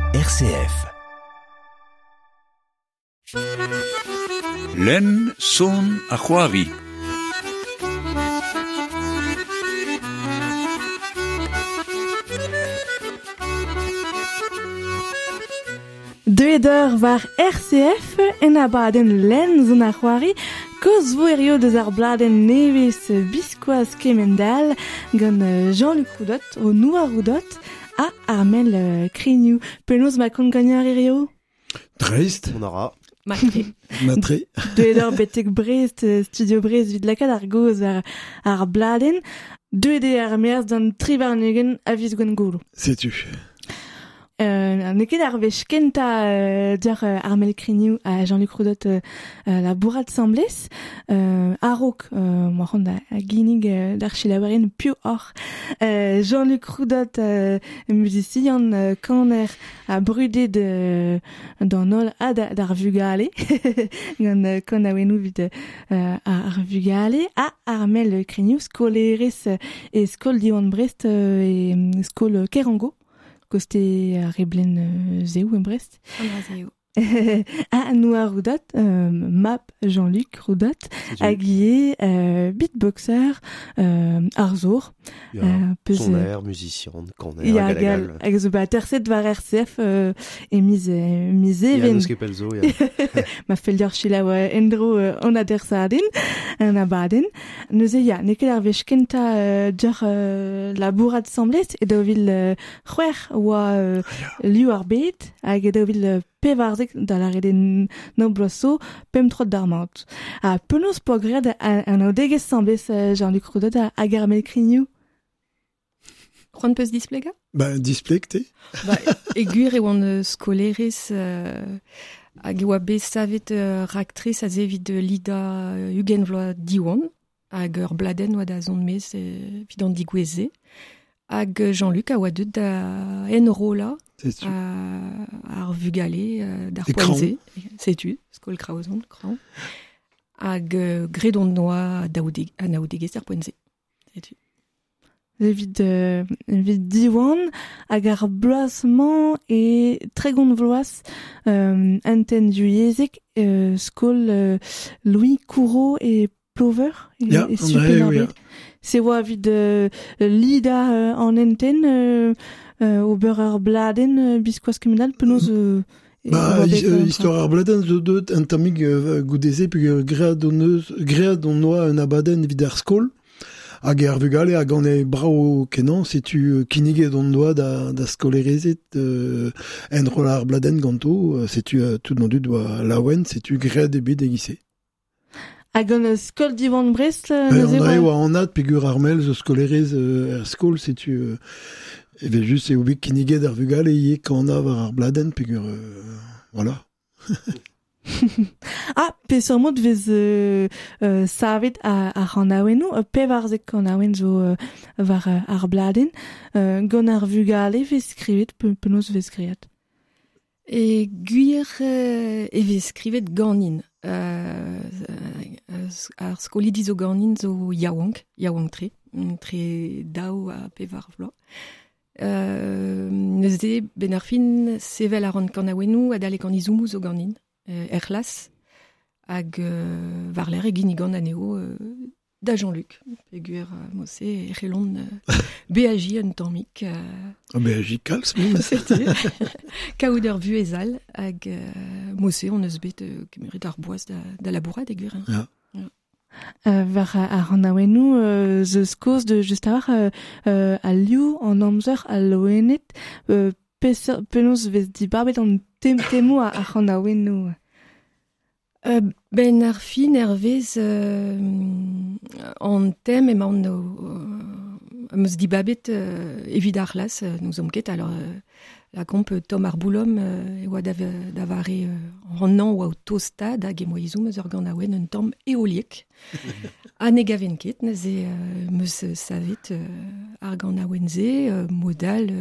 RCF. Len son a c'hoari. Deuedeur var RCF en abaden len zon ar c'hoari koz voerio deus ar bladen nevez biskoaz kemendal gant Jean-Luc Roudot o Noua Roudot a Armel Krignoux. Penaos ma kont gagneur erio? Dreist. On aura. Matre. Deuedeur betek Brest, Studio Brest vid lakad ar goz ar bladen. Deuede ar merz d'an tribarnugen a viz gant goulou. Sais-tu. Neket ar vech kenta diar Armel Krignoux a Jean-Luc Roudot la bourrade semblez. Arok, moaront a ginig d'ar chilaouarien piou or. Jean-Luc Roudot musicien kaner a brudet d'an ol a d'ar vugale. Gant kon a wenou vid ar vugale. A Armel Krignoux skolerez e skol diwan Brest e skol Kerango. Koste a reblen zeo en Brest. Zeo. A Noua Roudot, map Jean-Luc Roudot, a guié beatboxer arzour. Soner, musicien, corner, ya gal. Hag zo ba terset var RCF e miz even. Eus kepelzo, ya. Ma feldior chila endro on a dersadin, an abaden. Neuze ya, nekel ar vech kenta diar la bourrade semblez, e da vil c'hwer oa liu ar bet, hag e da vil pevarzek da la rede nobloso pem trot d'armant. A penaos po gred an aodegez semblez Jean-Luc Roudot hag Armel Krignoux. C'hoant peus displega? Displeg te. Egur e oan skolerez hag oa bez savet raktriz a zevit Lida Hugenvloa diwan hag ur bladen oa da zon mez vid an digweze. Hag Jean-Luc a oa deud da enrola ar vugale d'ar poenze. Setu, skol kraozon, kran. Hag gredon noa a naoudegez ar poenze. Setu. Evit diwan hag ar bloazman e tregont vloaz anten diouezek skol Louis Courreau e Plover e super arbet. Se oa vid Lida an enten o beur ar bladen biskoaz kemendal penaos histoire ar bladen zo deut un tamig goudeze pe gread on noa un abaden vid ar skol. Hag ar vugale hag an e brao kenan setu kinniget on doa da skolerezet enrol ar bladen ganto setu tout non dud oa laouen setu gred e bet egise. Hag an skol divan Brest neuze oa an ad pegur Armel zo skolerez ar skol setu eve just e oubek kinniget ar vugale ie kanav ar bladen pegur voilà. Pe surmot vez savet a c'hanaouenou, pevarzek c'hanaouen zo var ar bladen, gant ar vugale vez skrivet, penaos vez skrivet. E gwir e vez skrivet ganin. Ar skolidi zo ganin zo yaouank tre daou a pevar vloa. Neuze ben ar fin sevel a ran kanaouenou a dalek an izoumou zo ganin. Erlas hag var l'er e ginigan aneo da Jean-Luc. Pegur mosse e c'helon BAJ un tammik. BAJ kalz min. C'était. Kaout ur vuezal hag mosse on eus bet kemerit ar boaz da labourat egur. Ja. Var ar anaouenou zeus koz de just a liou an amzer a loenet penaos vez dibarbet an temou a c'hanaouenou. Ben ar fin vez an tem emaon meus dibabet evit ar las nous omket alors la komp Tom ar boulom e oa da vare an an oa o tostad hag e moa izoum eus ur gant aouen un tamm eoliek a ne gaven ket neuze meus savet ar gant aouen ze modal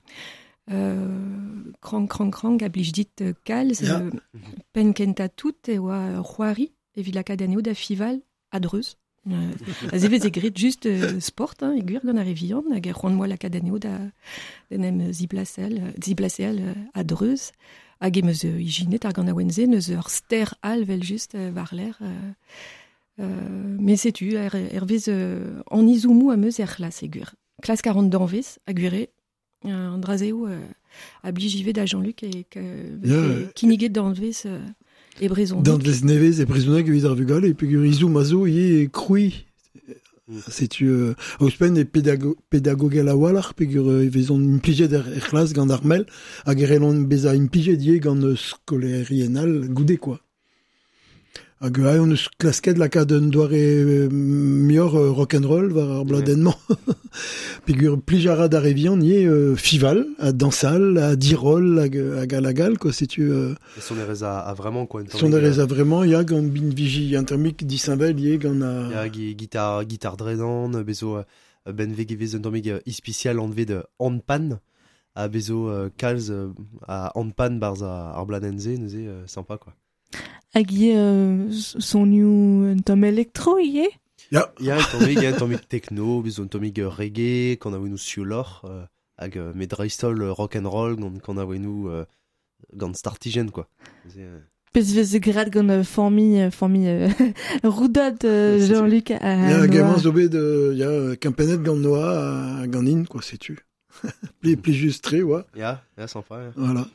krang a blij dit kalz pen kenta tout e oa c'hoari evit lakadeneo da fival a dreuz Azevez grit juste sport, hein, eguer gant ar evian, hag c'hoant moal akadaneo da nem ziblasel a dreuz, hag emeus ijinet ar gant a wenze, neus ur ster al vel just war l'air. Mais setu, vez an izoumou a meus klas eguer. Klas 40 d'anvez, a gure, an drazeo a blijivet da Jean-Luc e kiniget d'anvez e brezon. D'anvez nevez e brezonek evit ar vugal, e pegur izoum a zo e kroui. Setu auspen e pedagogel a walar, pegur evezon implijet er klas gant ar mel, hag relon beza implijet ie gant skolerienal goude, quoi. Hag on eus klasket lakaat un doare mior rock'n'roll war ar bladenman. Pegur plijara da revian nie fival, a dansal, a dirol, hag a lagal, quoi, setu... Son erez a vraiment, quoi. Son erez a vraiment, ya gant bin viji intermik disinvel, ie gant a... Ya gitar dredan, bezo ben vegevez un dormig ispicial anved handpan, a bezo kalz a handpan barz ar bladenze, neuze sympa, quoi. Hag son un tom elektro, ie? Ya, un tomik techno, bezo un tomik reggae, quand a nous siolor, hag met dreistol rock'n'roll, quand a nous gant startigen, quoi. Pez vez grad gant formi roudad Jean-Luc a Noa. Ya, gaiement zo bet, ya, kampenet gant Noa a gant in, quoi, setu. Pli just tre, oa. Ya, sympa, ya. Voilà.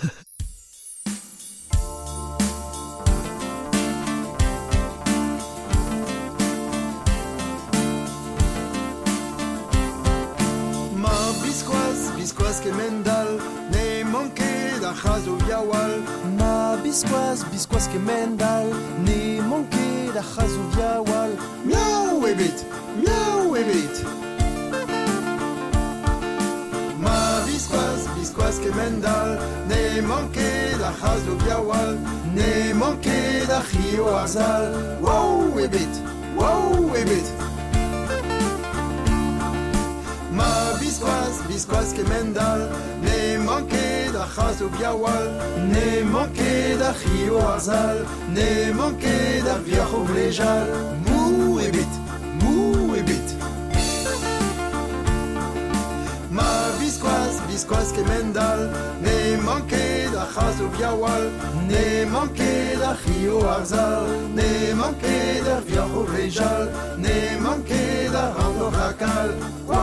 Bisquas que mendal, ne manque da chazo viawal. Ma bisquas que mendal, ne manque da chazo viawal. Miau ebit. Ma bisquas que mendal, ne manque da chazo viawal. Ne manque da chio arzal. Wow ebit. Ma bisquas que mendal, ne manque da chazo viawal, ne manque da chio arzal, ne manque da viajo vlejal. Mou ebit. Ma bisquas que mendal, ne manque da chazo viawal, ne manque da chio arzal, ne manque da viajo vlejal, ne manque da rando rakal.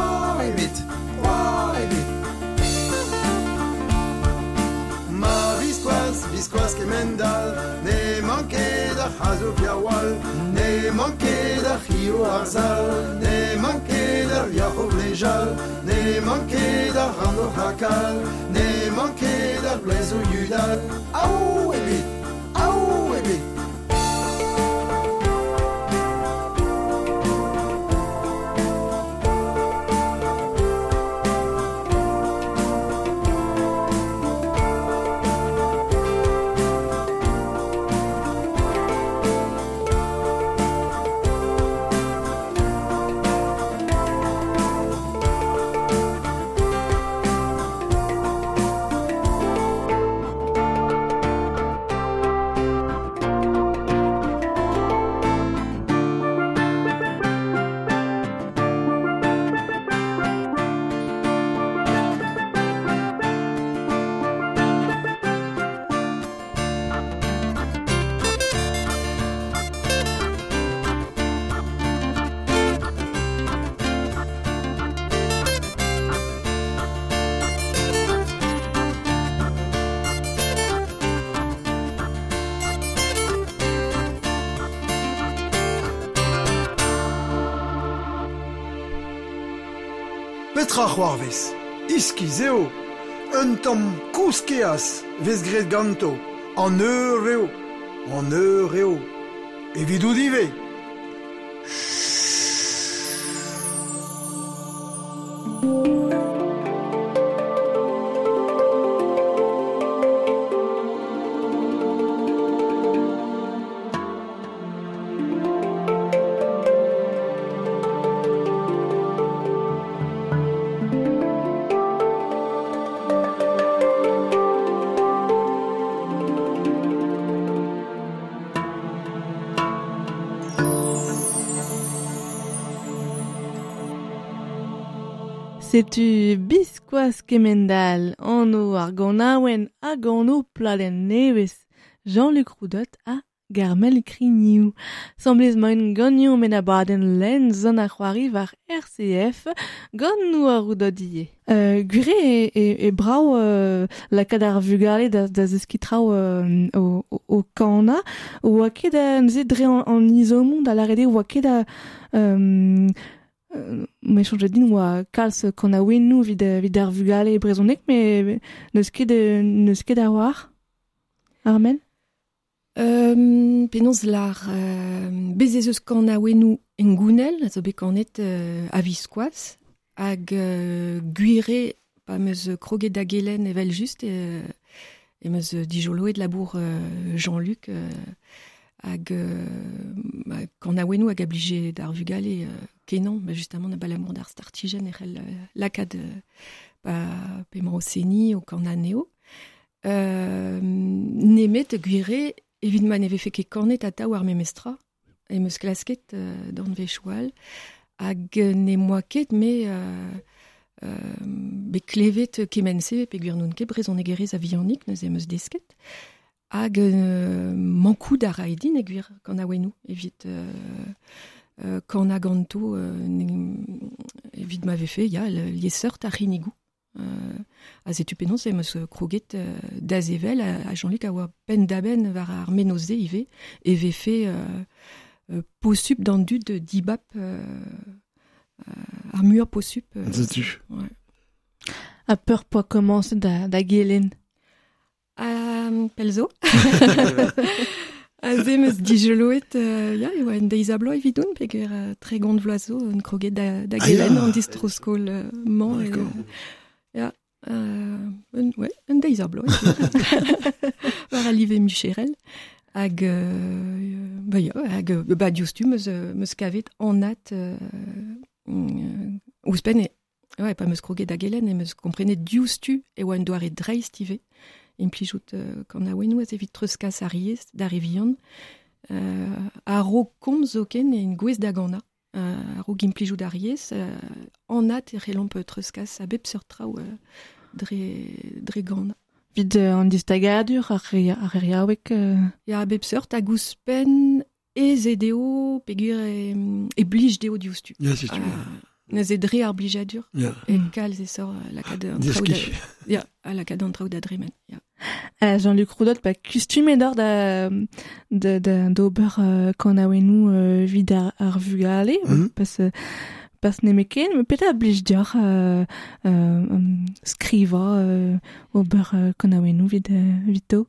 Ma bisquas que mendal, ne manque da chazo viawal, ne manque da chio arzal, ne manque da viajo vlejal, ne manque da rando hakal, ne manque da blezo yudal. Au ebit. Petra c'hoarvez, iski zeo, un tamm kouskeas vez gret ganto, an eur eo, evidou dive. Setu biskoaz kemendal anno ar ganaouen a gano pladen nevez Jean-Luc Roudot a Garmel Krigniou. Semblez ma un gagnon men a baden len zon a c'hoari var RCF gant nou a Roudot-ie. Gure e brau lakad ar vugale da zeskitrao o kana oa ket neuze dre an izomon da larede oa ket me chanje din oa kalz kon a ouenou vid ar vugale brezonek me neus ket a war Armel? Penaos lar bezezeus kan a ouenou en gounel, a zo bet kanet a viskoaz, hag guire pa meus kroget da gelen evel just e meus dijoloet labour Jean-Luc hag kan a ouenou hag a blije d'ar vugale kenan, justement na balamour d'ar startigen erel lakad pemañ o seni o kan a neo. Nemet guire evit man eve fe ket kornet ata war memestra e meus klasket d'an vechoual hag ne moa ket me be klevet kemense pe gwirnoun ket brezon egerez a viannik neus e meus desket hag mankou da raedin e gwir kan a ouenou evit kan a ganto evit ma vefe ya lieseurt a rinigou. A zetu penaos e meus kroget da zevel a Jean-Luc a oa pen da ben war ar menoze ive e vefe posup d'an dud dibap ar muur posup. Zetu. Ouais. A peur poa komanse da gelen. Pelzo. A ze meus dijoloet ya e oa en deiz a blo evidoun peger tre gont vloazo un kroget da gelen an distroskol man. Ja, un deiz ar blo. War a live Micherel. Hag, diouztu meus kavet anat ouzpen pa meus kroget da gelen e meus komprenet diouztu e oa un doare dreist ive. Implijout kan a ouenou az evit treuskaz a riez da revian. A ro komz zoken e un gwez da gana. A ro gimplijout a riez. Anat e relamp treuskaz a bep seurtrao dre gana. Vid an distagadur ar riaouek... Ya bep seurt a gouspen e zedeo pegur e blij deo diouztu. Ya, c'est tu. Nez e dre ar blijadur. Ya. E kalz e sor lakad an traoù da... Ya, lakad an traoù da dremen. Ya. Jean-Luc Roudot, kustume d'or d'ober kan a ouenou vid ar vugale, pas nemeken, me peta blij dior skriva ober kan a ouenou vid to.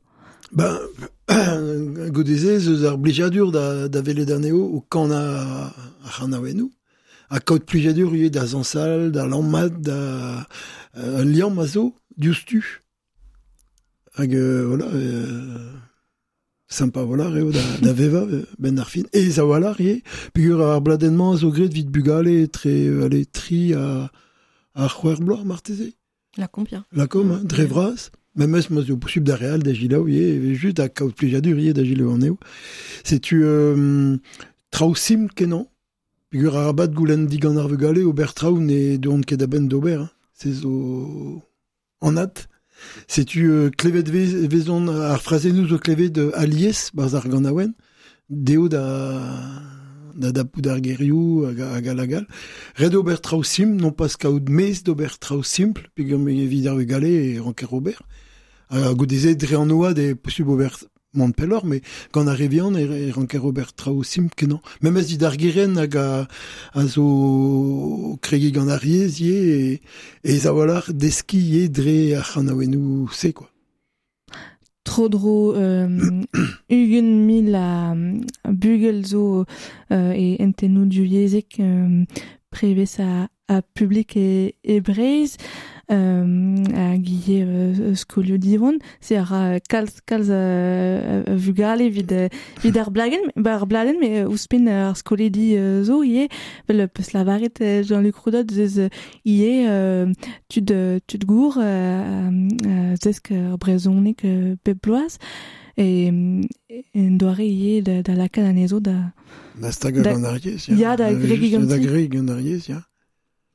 Godezez eus ar blijadur da vele d'aneo o kan a ouenou. A kaout blijadur ue da zansal, da lammat, da liam a zo, diouztu. Hag, voilà, sympa, voilà, reo da veva, ben ar fin. E za voilà, rie, pegur ar bladenman zo gret vid bugale tri a c'hwer bloaz marteze. La compia. La com, dre vraz. Même eus moz o posub da real da gilaou, just a kaout plijadur rie da gilaou an eo. Setu traoù sim kenan. Pegur ar abad goulenn digan ar vugale, ober traoù ne deon ket da ben d'ober. Se zo anat. Setu klevet vezon ar frazennoù zo klevet alies barz ar gant aouen, deo da poud ar gerioù hag a lagal. Red ober traoù sim, non pas kaout mez d'ober traoù simple, pegur me vid ar vugale e ranker ober. A godeze dre an oad e posub ober mont pellor, mais gant a revian e ranker ober traoù simple kenan. Mem ez vid ar geren hag a zo kregi gant ar riez e za walar deski ye dre ar c'hanaouenou se, quoi. Trodro ugen mil a bugel zo e entenou diouiezek prevez a publik e breiz a gille skolio divon, se ar kalz vugale vid ar bladen, me ouzpen ar skoledi zo ie, vel peus lavaret Jean-Luc Roudot zez ie tud gour zesk brezonek pep bloaz, en doare ie da lakad anezo da... Da stag gant ar riez, ya. Da gregi gant da gregi gant ar riez, ya.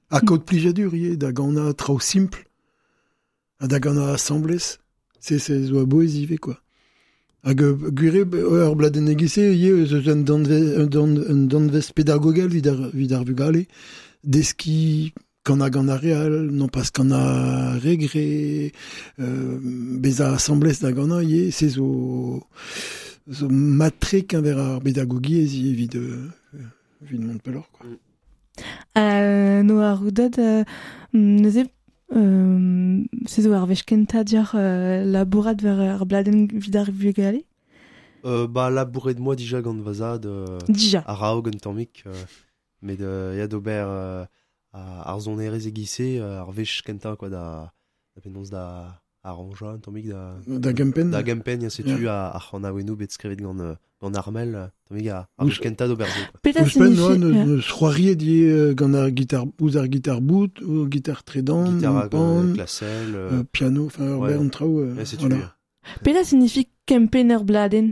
A code plijadur, da gana trao simple, da gana assemblez, c'est zo a boezive, quoi. Hag gure ur bladen egise, eus un danvez pédagogal vid ar vugale, deski quand a gant a real, non pas quand a regre, bez a assemblez da gana, c'est zo matrek ver ar pédagogie vid Montpellier, quoi. No a roudad, neuze, se zo ar vechkenta diar labourat ver ar bladen vid ar vugale? Labouret moi déjà gant vazad, Dija. a rao gant tammik, met ya d'ober ar zonerez egise, ar vechkenta, quoi, da penons da arranja, tammik Da gempen. Da gempen, ya setu a c'hanaouenou bet skrivet gant armel, tammik ar vechkenta d'oberzo, quoi. Peta Ouspen, signifie... ne c'hoariet gant ar guitar, ouz ar guitar bout, ou guitar tredan, Guitare pan, classel, piano, enfin, ur ouais. bern trao, ja, setu, voilà. Peta signifie kempen ur bladen?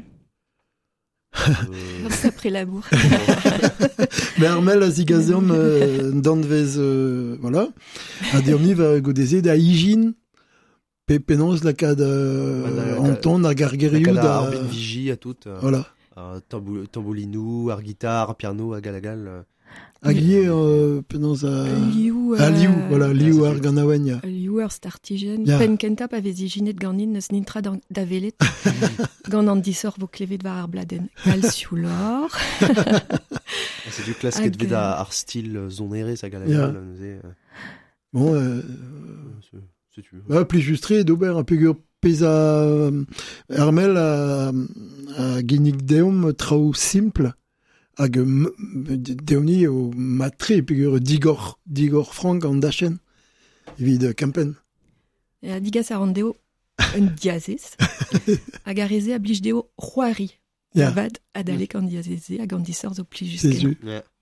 C'est après labour. Mais Armel a zigazom danvez, voilà. A dirmi va godeze da hijin, penons la kad Anton a gargeriou da da... arbin vigi a tout, Voilà. tamboulinou, ar guitar, piano, a galagal. Hag ie penons a... Liou. Liou, voilà, liou c'est ar ganawen, ya. Liou ar startigen. Ya. Pen kenta pa vez ijinet ganin neus nintra da velet. Gant an disor vo klevet war ar bladen. Kalsioulor. C'est du klasket vet ar stil zonere, sa galagal, neuze. Bon, C'est tu. plus justre d'ober un peu pesa Armel a genig deom trao simple, hag deomni o matre pegur digor frank an dachen, evit kampen. E a digas a randeo un diazez. Hag a reze a blij deo c'hoari. Ya. Avad adalek an diazeze hag an disor zo plij C'est jusken. zu. Yeah.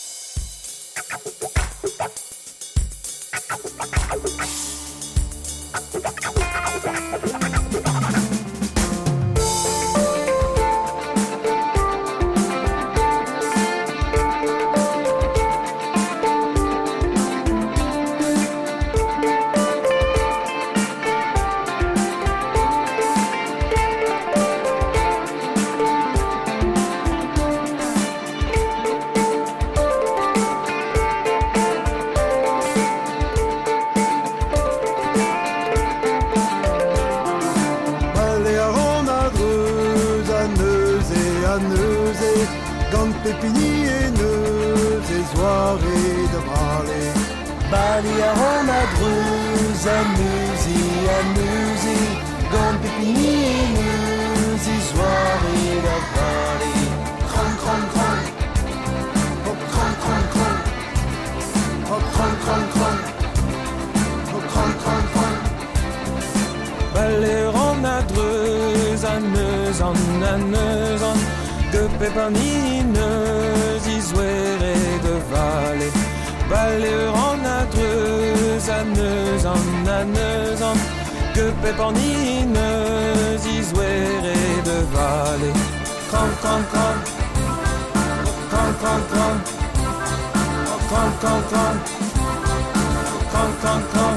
Gant pepini e neus e zoare da brale. Bali a ran a dreuz a neuze, gant pepini e neus e zoare da brale. Kran, kran, kran, hop, kran, kran, kran, hop, kran, kran, kran, hop, kran, kran, kran. Bali a ran a dreuz a neus an, de pepanineuse, izouere de vallée. Baleur en adreuse, aneuse en, de pepanineuse, izouere de vallée. Cran, cran, cran, cran, cran, cran, cran, cran, cran, cran, cran, cran.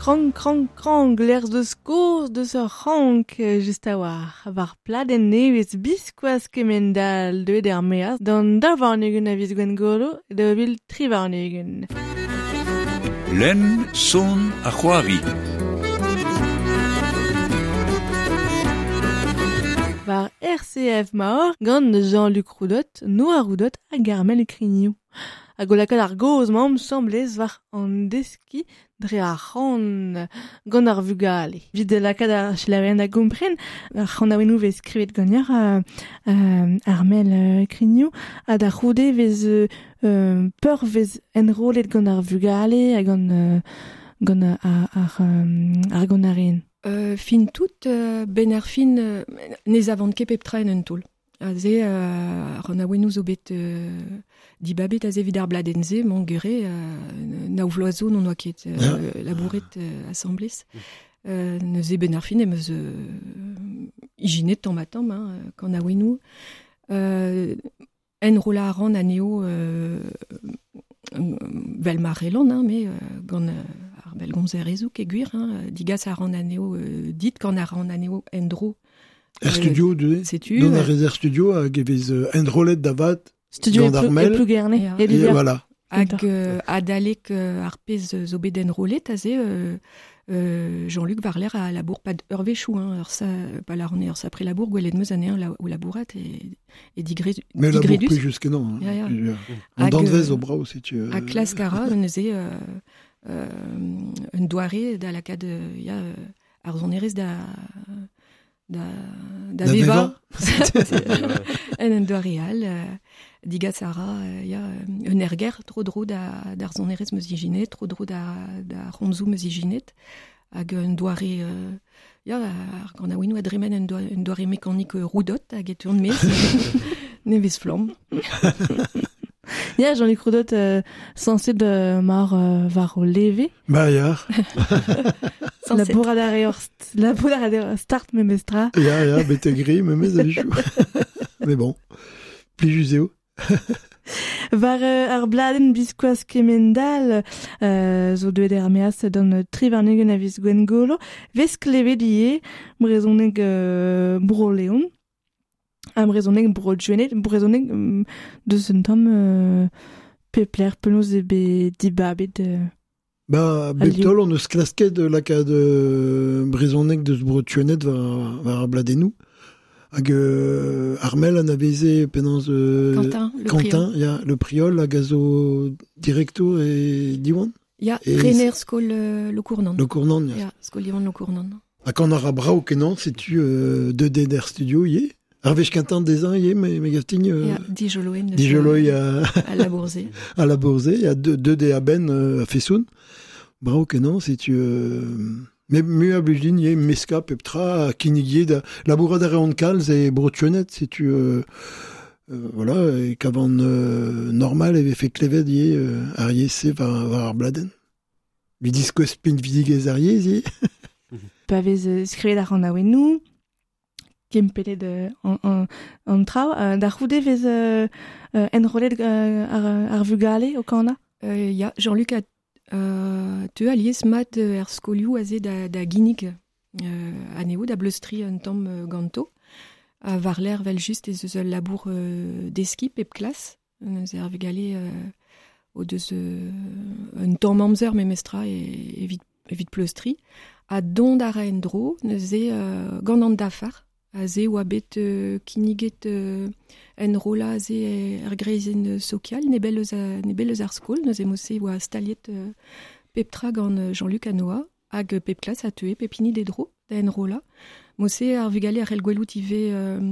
krang, l'ers de skours de ce rank just a war. Var pladen nevis biskoaz kemendal de dermeas, dan davarnugen a viz gwen golo, de vil trivarnugen. Len, son, a c'hoavi. Var RCF Maor, gant Jean-Luc Roudot, Noa Roudot a Armel Criniou. A golakad ar goz mam semblez var an deski dre ar c'han gant ar vugale. Vid de lakad ar chilaverien da gompren, ar c'han aouenou vez skrivet ganyar Armel Criniou, a da c'houde vez peur vez enrolet gant ar vugale a gant ar gonarien. Fin tout, ben ar fin nez avant ket peptra en un toul. Aze, ran aouenou zo bet dibabet aze vid ar bladenze, mon gure, naou vloazo non oa ket labouret assemblez. Neuze ben ar fin emez ijinet tamm kan aouenou. En rola ran aneo vel marelan, mais gant ar bel gomzerezou ke gwir, digas ar ran aneo dit kan ar ran aneo endro. Studio, don ar rezer studio hag evez endrolet davat Studio gant Armel. E plus gerne. Ja. Et Voilà. Hag adalek ar pez zo bet enrolet aze Jean-Luc Varler a labour pad ur vechou, ur sa, pa la ran ur sa pre labour gwelet meus anean ou labourat e digredus. Mais labour plus jusque non. Ja. En danvez au brao, si tu... A klas kara, neuze un doare da lakad ar zonerez da veva. En un doareal, digas ara, un erger tro dro d'ar zonerez meus ijinet, tro dro da ronzou meus ijinet, hag un doare, ar gant aouenou adremen un doare mécanique roudot, hag et urn mez, nevez flam. Ya, Jean-Luc Roudot, censé de mar var o leve. Bah, ya. La bourrada start me mestra. Ya, bete gris, me mez a vechou. Mais bon, pli juzeo. Var ar bladen biskoaz kemendal, zo deuet er meas d'an trivarnugen a viz gwen golo, vez klevet ie, brezoneg bro leon, am brezoneg bro juenet, brezoneg deus un tamm pepler penaos e be dibabet. Bah, betol, on eus klasket lakad brezoneg deus bro tuenet var ar bladenou. Hag Armel an aveze penans Quentin, ya, le priol hag a zo directo e diwan. Ya, Renner skol le cournan. Le cournan, ya. Skol diwan le cournan. Hag an ar brao kenan, setu de der studio ye. Ar vech Quentin dezan ye, me gafting... Ya, dijoloen. Dijoloi a la Bourse. A la Bourse, ya de de a ben a fesoun. Brao kenan, setu... Mais mu a blujin ye meska peptra kinigye da labourad ar reont kalz e brotuenet si tu voilà et qu'avant normal avait fait klevet ye ar yese var ar bladen. Mi disko spin vidigez ar yeze. Pa vez skrivet ar an aouenou kempele de an trao da c'houde vez enrolet ar vugale o kana. Ya, Jean-Luc a tu alies mat er skolioù aze da ginig aneo da bleustri un tamm ganto a varler vel just ez eus labour deski pep klas eus er vegale o deus un tamm amzer me mestra evit pleustri a dont a ra en dro neus gant an dafar aze oa bet kiniget en rola aze er greizen sokial ne bel ar skol neus emose oa staliet peptra gant Jean-Luc Anoa hag pep klas a teue pepini de dro da en rola mose ar vugale ar el gwelout ive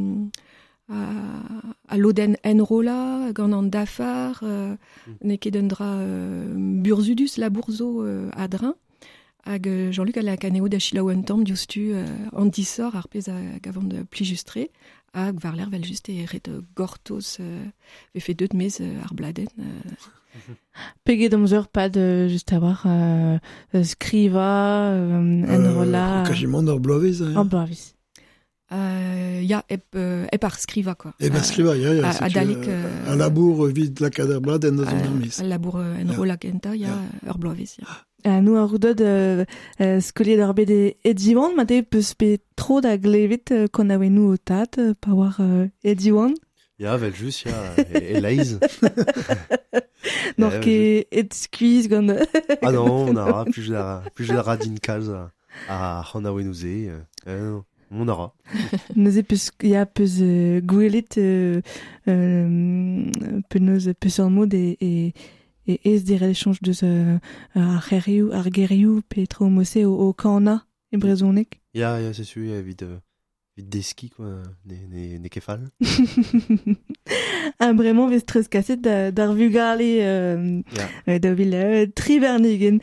a loden en rola gant an dafar ne ket un dra burzudus labourzo a drin hag Jean-Luc a la kaneo da chilaou un tamm diouztu an disor ar pez a gavant pli justre hag varler vel just e ret gortoz ve fe deud mez ar bladen. Peget amzer pad just a war skriva, enrola... Kajimant ar bloavez. Ar bloavez. Ya, ep ar skriva, quoi. Ep ar skriva, ya. A dalek... A labour vid lakad ar bladen da zon ar mez. A labour enrola genta, ya, ur bloavez, ya. nous a roudot skolier d'ar bet e diwan, ma te peus bet tro da glevet kon a nous au tat, pa war e diwan. Ja, vel just, ja, e leiz. Nor ket et skuiz gant... Ah non, on aura plus de radin kalz a c'han a ouze. On aura. Neuze peus, ya peus gwelet peus peus an mod e ez dire l'échange deus ar gerioù pe tro mose o kana e brezonek. Ja, c'est sûr, vid deski, quoi, ne kefal. Bremañ vez treuz kaset d'ar vugale da vil trivernigen.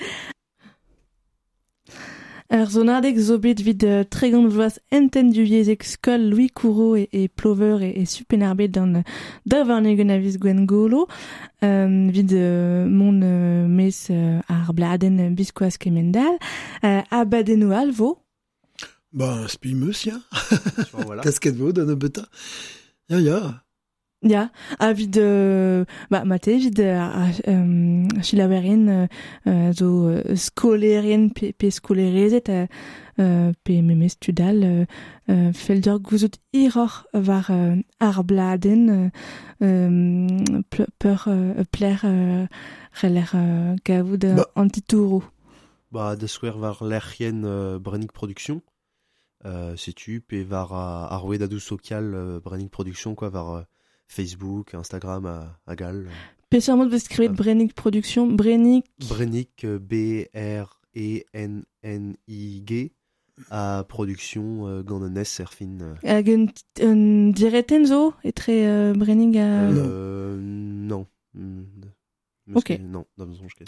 Ur zonadeg zo bet vid tregant vloaz entenduiezek skol Louis Courreau et Plover et supenerbet dan da varnegen a viz Gwen Golo, vid mon mes ar bladen biskoaz kemendal, a baden o alvo. Bah, spimeus, ya. Voilà. Kasket vo dan a beta. Ya. Ja, a vid mate vid chilaverien zo skolerien pe skolerezet pe memes tudal felder gouzout iror var ar bladen pler reler gavout antitouro. Bah, de skwer var lercien Brennig Production. Setu pe var a roe da dou social Brennig Production, quoi, var Facebook, Instagram a gal. Peseurt mod vez skrivet Brennig Production, Brennig... Brennig, B-R-E-N-N-I-G, a production gant an es fin. Hag un direten zo etre Brennig a... Non. Ok. Non, da besoin ket.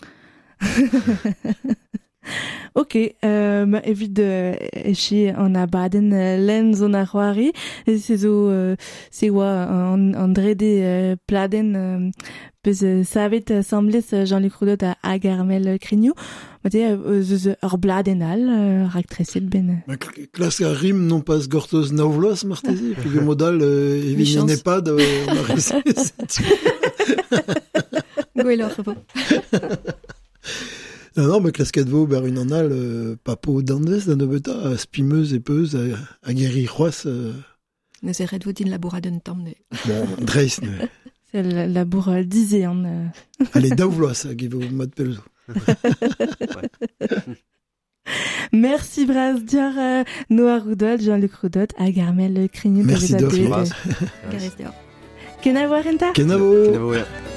Ok, evit echi an abaden len zon ar c'hoari, se zo se oa an drede pladen peus savet samblez Jean-Luc Roudot hag Armel Krignou, mate eus ur bladenal raktreset ben. Klask a rim non pas gortoz naovloaz martezi, pe modal evit n'en pas de martezi. Gwelloc'h vo. Non, mais klasket vo ber un anal papo dandez da nebeta spimeus e peus a geri c'hoaz. Neus e red vo din labourad un tamm ne. Bon, dreiz ne. C'est le labour dizean. Allez, daouvloaz hag evo mat pelzo. Merci braz diar Noa Roudot, Jean-Luc Roudot hag Armel Krignou. Merci d'offre. Garez deoc'h. Kenavo arenta? Kenavo. Kenavo, ja.